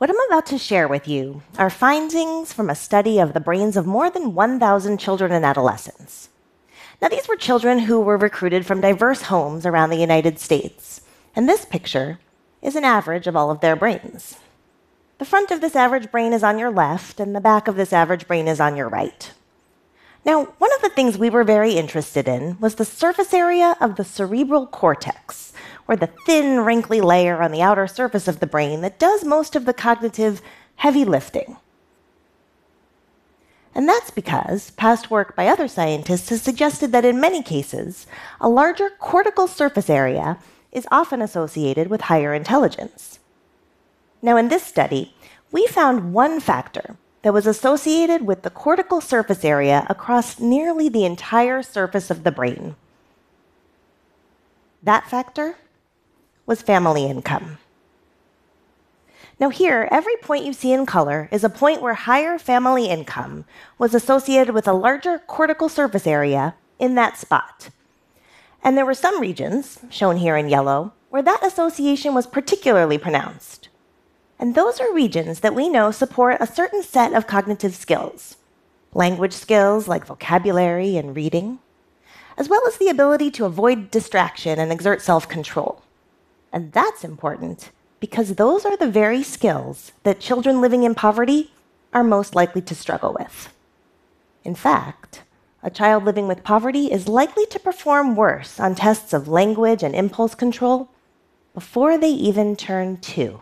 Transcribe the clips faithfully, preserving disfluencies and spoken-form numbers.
What I'm about to share with you are findings from a study of the brains of more than one thousand children and adolescents. Now, these were children who were recruited from diverse homes around the United States, and this picture is an average of all of their brains. The front of this average brain is on your left, and the back of this average brain is on your right. Now, one of the things we were very interested in was the surface area of the cerebral cortex, or the thin, wrinkly layer on the outer surface of the brain that does most of the cognitive heavy lifting. And that's because past work by other scientists has suggested that in many cases, a larger cortical surface area is often associated with higher intelligence. Now, in this study, we found one factor that was associated with the cortical surface area across nearly the entire surface of the brain. That factor was family income. Now here, every point you see in color is a point where higher family income was associated with a larger cortical surface area in that spot. And there were some regions, shown here in yellow, where that association was particularly pronounced. And those are regions that we know support a certain set of cognitive skills, language skills like vocabulary and reading, as well as the ability to avoid distraction and exert self-control. And that's important because those are the very skills that children living in poverty are most likely to struggle with. In fact, a child living with poverty is likely to perform worse on tests of language and impulse control before they even turn two.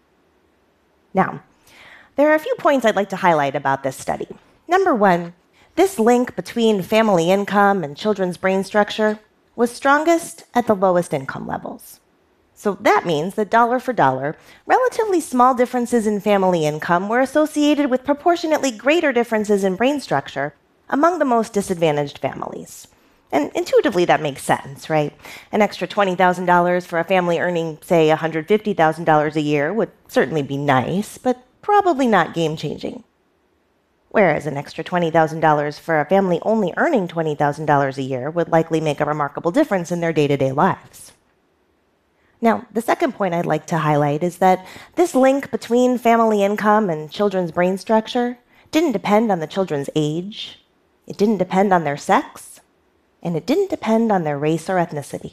Now, there are a few points I'd like to highlight about this study. Number one, this link between family income and children's brain structure was strongest at the lowest income levels. So that means that dollar for dollar, relatively small differences in family income were associated with proportionately greater differences in brain structure among the most disadvantaged families. And intuitively, that makes sense, right? An extra twenty thousand dollars for a family earning, say, one hundred fifty thousand dollars a year would certainly be nice, but probably not game-changing. Whereas an extra twenty thousand dollars for a family only earning twenty thousand dollars a year would likely make a remarkable difference in their day-to-day lives. Now, the second point I'd like to highlight is that this link between family income and children's brain structure didn't depend on the children's age, it didn't depend on their sex, and it didn't depend on their race or ethnicity.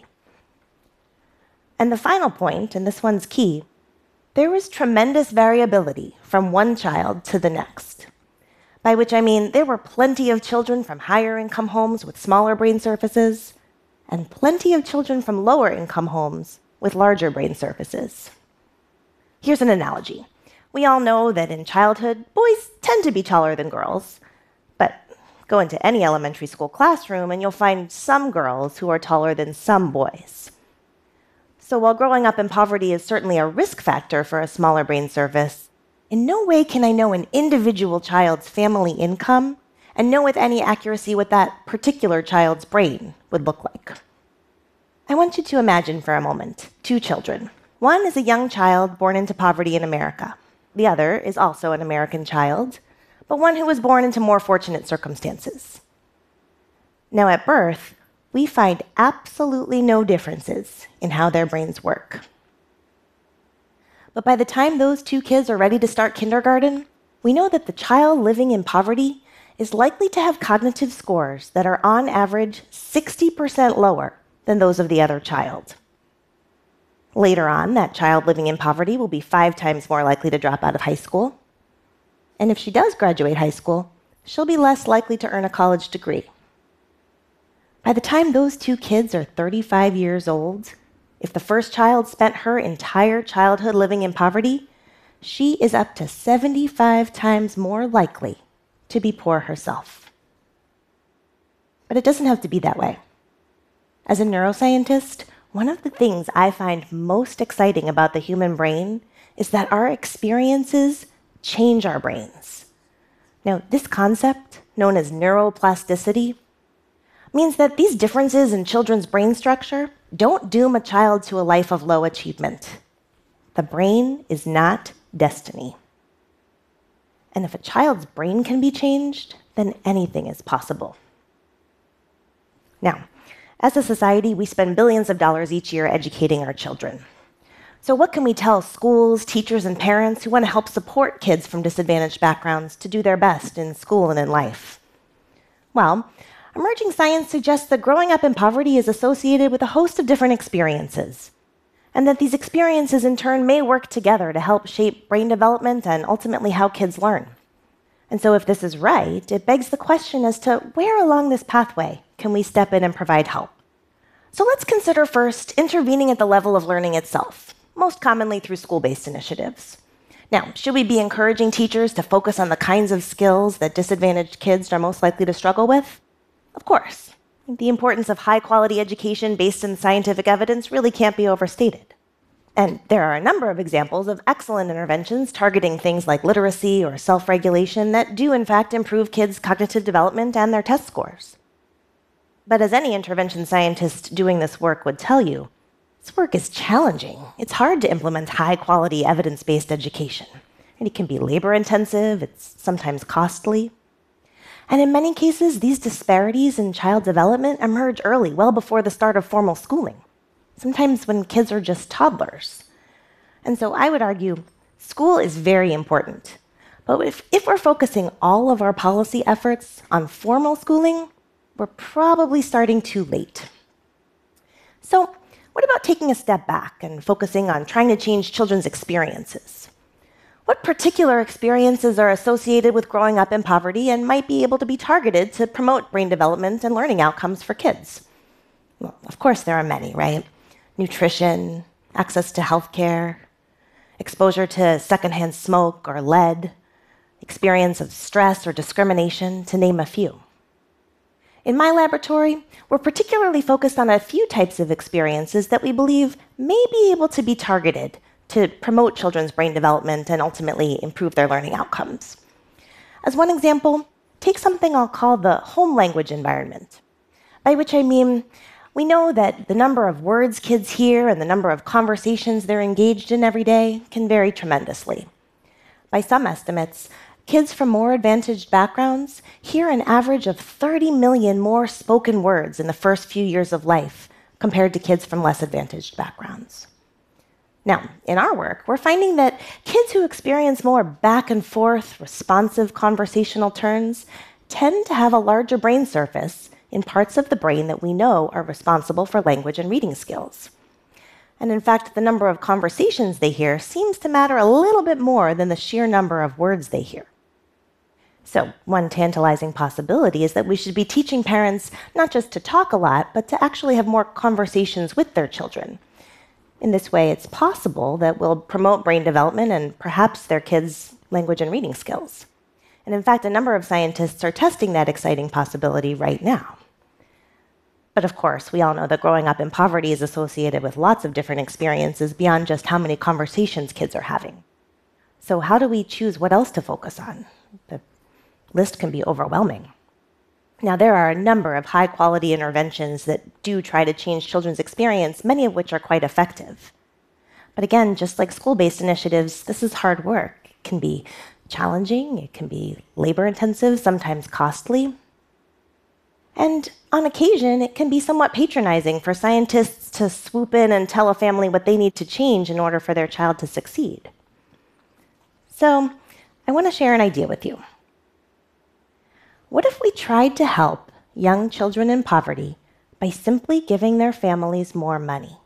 And the final point, and this one's key, there was tremendous variability from one child to the next. By which I mean there were plenty of children from higher income homes with smaller brain surfaces, and plenty of children from lower income homes with larger brain surfaces. Here's an analogy. We all know that in childhood, boys tend to be taller than girls, but go into any elementary school classroom and you'll find some girls who are taller than some boys. So while growing up in poverty is certainly a risk factor for a smaller brain surface, in no way can I know an individual child's family income and know with any accuracy what that particular child's brain would look like. I want you to imagine for a moment two children. One is a young child born into poverty in America. The other is also an American child, but one who was born into more fortunate circumstances. Now, at birth, we find absolutely no differences in how their brains work. But by the time those two kids are ready to start kindergarten, we know that the child living in poverty is likely to have cognitive scores that are on average sixty percent lower than those of the other child. Later on, that child living in poverty will be five times more likely to drop out of high school. And if she does graduate high school, she'll be less likely to earn a college degree. By the time those two kids are thirty-five years old, if the first child spent her entire childhood living in poverty, she is up to seventy-five times more likely to be poor herself. But it doesn't have to be that way. As a neuroscientist, one of the things I find most exciting about the human brain is that our experiences change our brains. Now, this concept, known as neuroplasticity, means that these differences in children's brain structure don't doom a child to a life of low achievement. The brain is not destiny. And if a child's brain can be changed, then anything is possible. Now, as a society, we spend billions of dollars each year educating our children. So, what can we tell schools, teachers, and parents who want to help support kids from disadvantaged backgrounds to do their best in school and in life? Well, emerging science suggests that growing up in poverty is associated with a host of different experiences, and that these experiences in turn may work together to help shape brain development and ultimately how kids learn. And so, if this is right, it begs the question as to where along this pathway can we step in and provide help? So, let's consider first intervening at the level of learning itself, most commonly through school-based initiatives. Now, should we be encouraging teachers to focus on the kinds of skills that disadvantaged kids are most likely to struggle with? Of course. The importance of high-quality education based in scientific evidence really can't be overstated. And there are a number of examples of excellent interventions targeting things like literacy or self-regulation that do, in fact, improve kids' cognitive development and their test scores. But as any intervention scientist doing this work would tell you, this work is challenging. It's hard to implement high-quality, evidence-based education. And it can be labor-intensive, it's sometimes costly. And in many cases, these disparities in child development emerge early, well before the start of formal schooling, sometimes when kids are just toddlers. And so I would argue school is very important. But if, if we're focusing all of our policy efforts on formal schooling, we're probably starting too late. So, what about taking a step back and focusing on trying to change children's experiences? What particular experiences are associated with growing up in poverty and might be able to be targeted to promote brain development and learning outcomes for kids? Well, of course, there are many, right? Nutrition, access to healthcare, exposure to secondhand smoke or lead, experience of stress or discrimination, to name a few. In my laboratory, we're particularly focused on a few types of experiences that we believe may be able to be targeted to promote children's brain development and ultimately improve their learning outcomes. As one example, take something I'll call the home language environment, by which I mean we know that the number of words kids hear and the number of conversations they're engaged in every day can vary tremendously. By some estimates, kids from more advantaged backgrounds hear an average of thirty million more spoken words in the first few years of life compared to kids from less advantaged backgrounds. Now, in our work, we're finding that kids who experience more back and forth, responsive conversational turns tend to have a larger brain surface in parts of the brain that we know are responsible for language and reading skills. And in fact, the number of conversations they hear seems to matter a little bit more than the sheer number of words they hear. So, one tantalizing possibility is that we should be teaching parents not just to talk a lot, but to actually have more conversations with their children. In this way, it's possible that we'll promote brain development and perhaps their kids' language and reading skills. And in fact, a number of scientists are testing that exciting possibility right now. But of course, we all know that growing up in poverty is associated with lots of different experiences beyond just how many conversations kids are having. So how do we choose what else to focus on? The list can be overwhelming. Now, there are a number of high-quality interventions that do try to change children's experience, many of which are quite effective. But again, just like school-based initiatives, this is hard work. It can be challenging, it can be labor-intensive, sometimes costly. And on occasion, it can be somewhat patronizing for scientists to swoop in and tell a family what they need to change in order for their child to succeed. So, I want to share an idea with you. What if we tried to help young children in poverty by simply giving their families more money?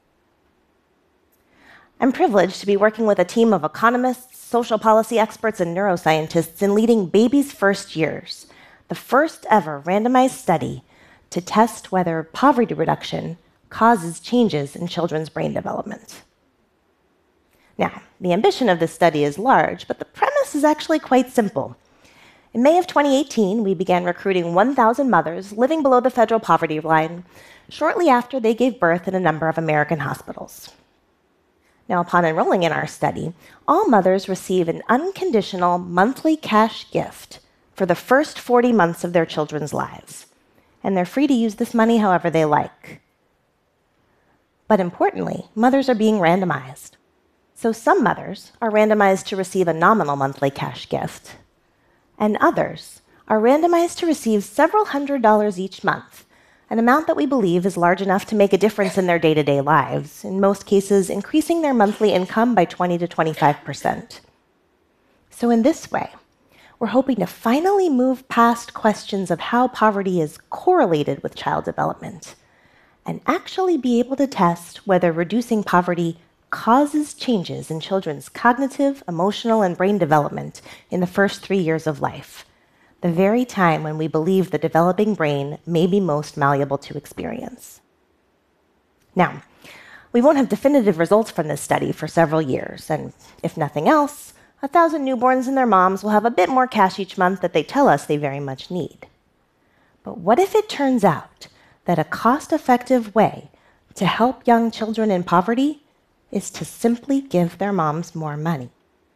I'm privileged to be working with a team of economists, social policy experts, and neuroscientists in leading Baby's First Years, the first ever randomized study to test whether poverty reduction causes changes in children's brain development. Now, the ambition of this study is large, but the premise is actually quite simple. In May of twenty eighteen, we began recruiting one thousand mothers living below the federal poverty line shortly after they gave birth in a number of American hospitals. Now, upon enrolling in our study, all mothers receive an unconditional monthly cash gift for the first forty months of their children's lives, and they're free to use this money however they like. But importantly, mothers are being randomized. So some mothers are randomized to receive a nominal monthly cash gift, and others are randomized to receive several hundred dollars each month an amount that we believe is large enough to make a difference in their day-to-day lives, in most cases increasing their monthly income by twenty to twenty-five percent. So in this way, we're hoping to finally move past questions of how poverty is correlated with child development and actually be able to test whether reducing poverty causes changes in children's cognitive, emotional, and brain development in the first three years of life, the very time when we believe the developing brain may be most malleable to experience. Now, we won't have definitive results from this study for several years, and if nothing else, a thousand newborns and their moms will have a bit more cash each month that they tell us they very much need. But what if it turns out that a cost-effective way to help young children in poverty is to simply give their moms more money?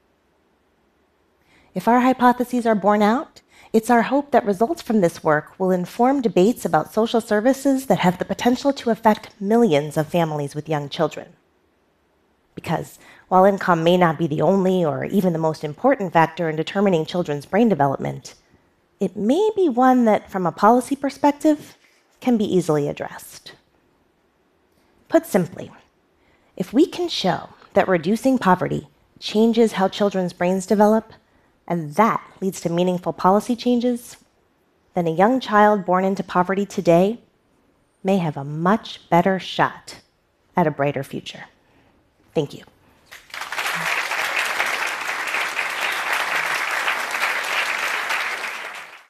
If our hypotheses are borne out, it's our hope that results from this work will inform debates about social services that have the potential to affect millions of families with young children. Because while income may not be the only or even the most important factor in determining children's brain development, it may be one that, from a policy perspective, can be easily addressed. Put simply, if we can show that reducing poverty changes how children's brains develop, and that leads to meaningful policy changes, then a young child born into poverty today may have a much better shot at a brighter future. Thank you.